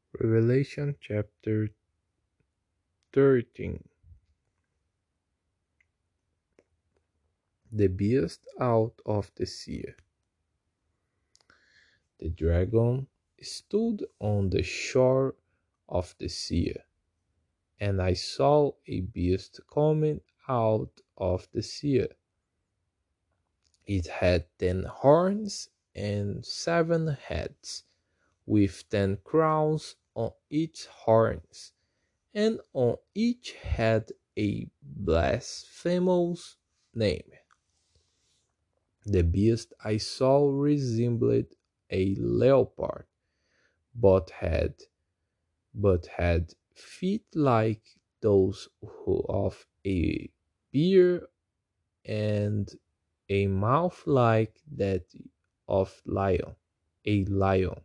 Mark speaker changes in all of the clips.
Speaker 1: Revelation chapter 13. The beast out of the sea. The dragon stood on the shore of the sea, and I saw a beast coming out of the sea. It had 10 horns and 7 heads, with 10 crowns on its horns, and on each head a blasphemous name. The beast I saw resembled a leopard, but had feet like those of a bear, and a mouth like that of a lion.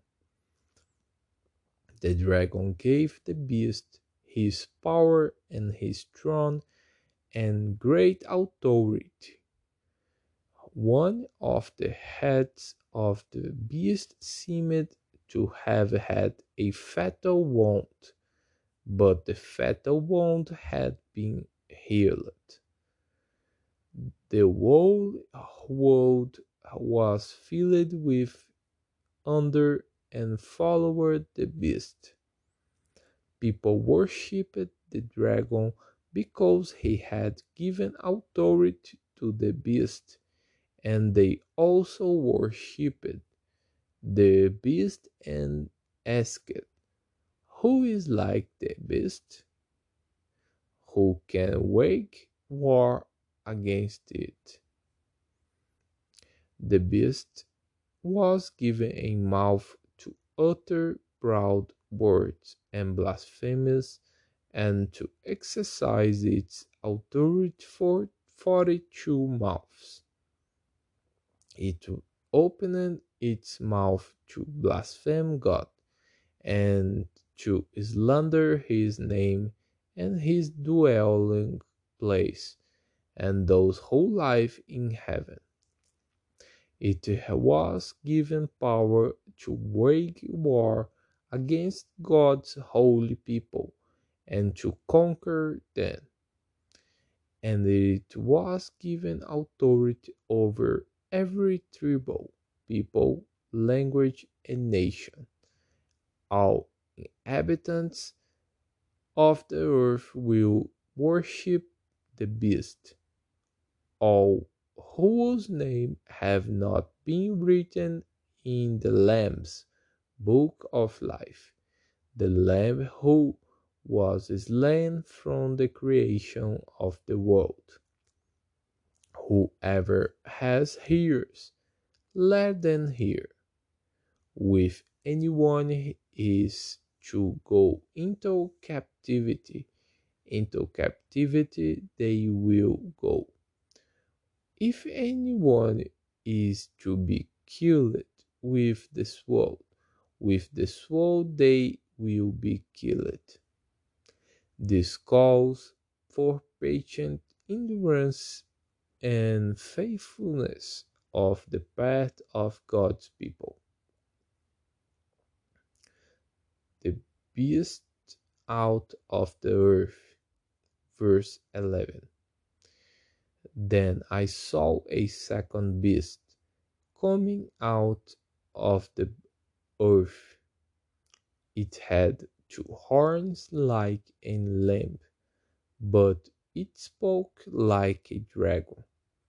Speaker 1: The dragon gave the beast his power and his throne and great authority. One of the heads of the beast seemed to have had a fatal wound, but the fatal wound had been healed. The whole world was filled with wonder and followed the beast. People worshipped the dragon because he had given authority to the beast, and they also worshipped the beast and asked, "Who is like the beast? Who can wage war against it?" The beast was given a mouth to utter proud words and blasphemies, and to exercise its authority for 42 months. It opened its mouth to blaspheme God and to slander his name and his dwelling place and those who live in heaven. It was given power to wage war against God's holy people and to conquer them. And it was given authority over every tribe, people, language, and nation. All inhabitants of the earth will worship the beast, all whose names have not been written in the Lamb's book of life, the Lamb who was slain from the creation of the world. Whoever has ears, let them hear. With anyone is to go into captivity they will go. If anyone is to be killed with the sword they will be killed. This calls for patient endurance and faithfulness of the path of God's people. The beast out of the earth. Verse 11. Then I saw a second beast coming out of the earth. It had 2 horns like a lamb, but it spoke like a dragon.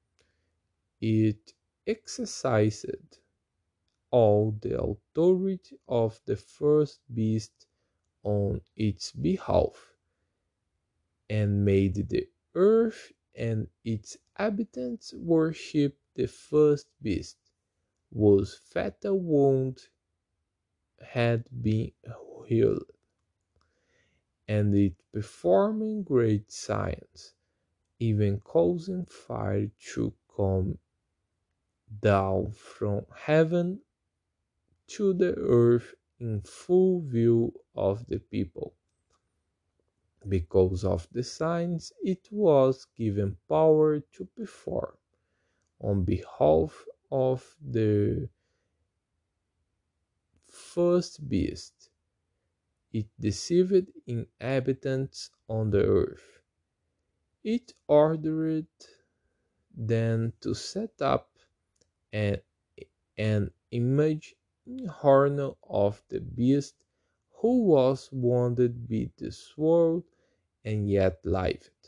Speaker 1: It exercised all the authority of the first beast on its behalf, and made the earth and its inhabitants worship the first beast, whose fatal wound had been healed, and it performing great signs, even causing fire to come down from heaven to the earth in full view of the people. Because of the signs it was given power to perform on behalf of the first beast, it deceived inhabitants on the earth. It ordered them to set up an, an image in honor of the beast who was wounded by the sword and yet lived.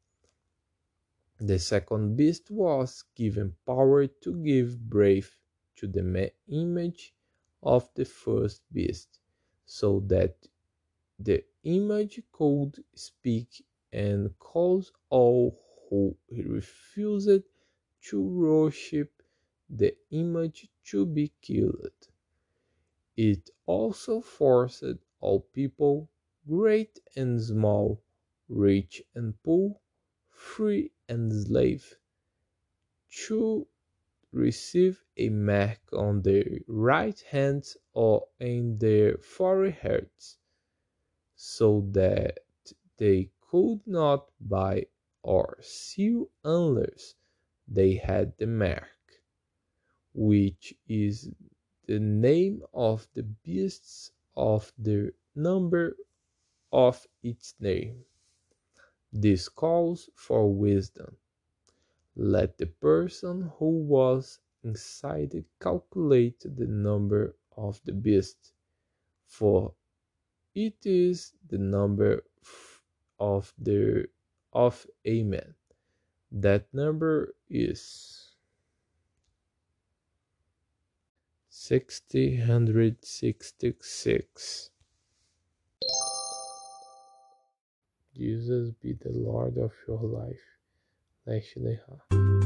Speaker 1: The second beast was given power to give breath to the image of the first beast, so that the image could speak and cause all who refused to worship the image to be killed. It also forced all people, great and small, rich and poor, free and slave, to receive a mark on their right hands or in their foreheads, so that they could not buy or sell unless they had the mark, which is the name of the beasts of the number of its name. This calls for wisdom. Let the person who was inside calculate the number of the beast, for it is the number of a man. That number is 666. Jesus be the Lord of your life. Leste